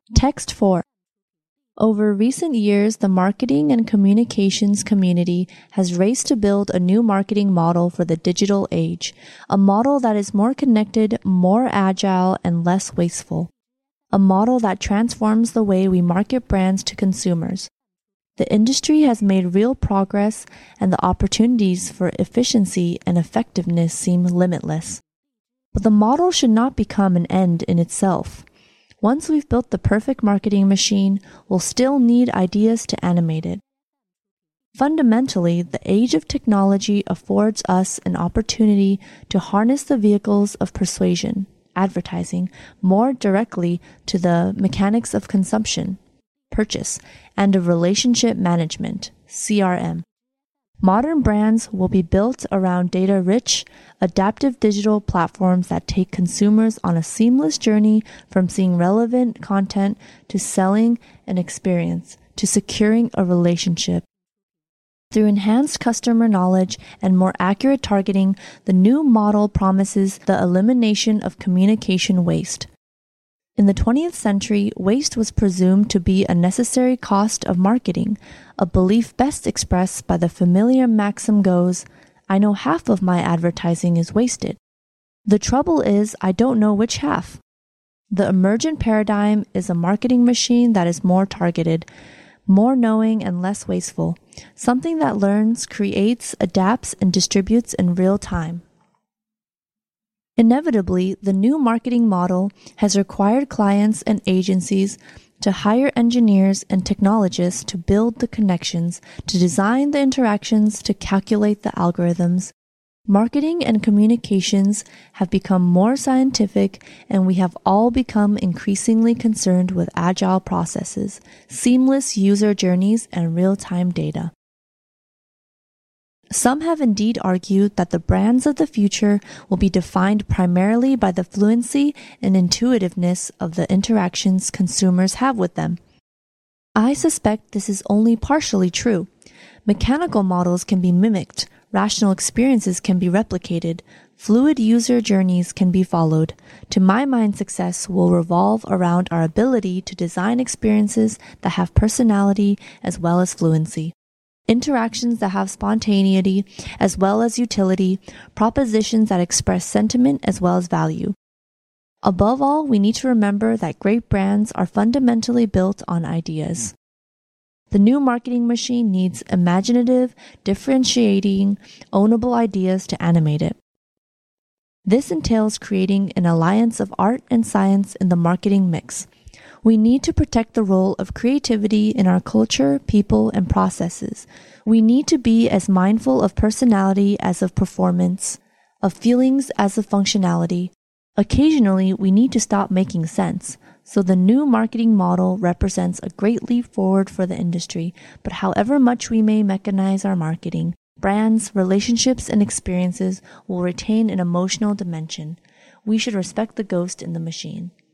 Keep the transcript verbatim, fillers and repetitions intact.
Text four. Over recent years, the marketing and communications community has raced to build a new marketing model for the digital age, a model that is more connected, more agile, and less wasteful. A model that transforms the way we market brands to consumers. The industry has made real progress, and the opportunities for efficiency and effectiveness seem limitless. But the model should not become an end in itself. Once we've built the perfect marketing machine, we'll still need ideas to animate it. Fundamentally, the age of technology affords us an opportunity to harness the vehicles of persuasion, advertising, more directly to the mechanics of consumption, purchase, and of relationship management, C R M. Modern brands will be built around data-rich, adaptive digital platforms that take consumers on a seamless journey from seeing relevant content to selling an experience to securing a relationship. Through enhanced customer knowledge and more accurate targeting, the new model promises the elimination of communication waste. In the twentieth century, waste was presumed to be a necessary cost of marketing. A belief best expressed by the familiar maxim goes, "I know half of my advertising is wasted. The trouble is, I don't know which half." The emergent paradigm is a marketing machine that is more targeted, more knowing and less wasteful, something that learns, creates, adapts, and distributes in real time. Inevitably, the new marketing model has required clients and agencies to hire engineers and technologists to build the connections, to design the interactions, to calculate the algorithms. Marketing and communications have become more scientific, and we have all become increasingly concerned with agile processes, seamless user journeys, and real-time data. Some have indeed argued that the brands of the future will be defined primarily by the fluency and intuitiveness of the interactions consumers have with them. I suspect this is only partially true. Mechanical models can be mimicked, rational experiences can be replicated, fluid user journeys can be followed. To my mind, success will revolve around our ability to design experiences that have personality as well as fluency. Interactions that have spontaneity as well as utility, propositions that express sentiment as well as value. Above all, we need to remember that great brands are fundamentally built on ideas. The new marketing machine needs imaginative, differentiating, ownable ideas to animate it. This entails creating an alliance of art and science in the marketing mix. We need to protect the role of creativity in our culture, people, and processes. We need to be as mindful of personality as of performance, of feelings as of functionality. Occasionally, we need to stop making sense. So the new marketing model represents a great leap forward for the industry, but however much we may mechanize our marketing, brands, relationships, and experiences will retain an emotional dimension. We should respect the ghost in the machine.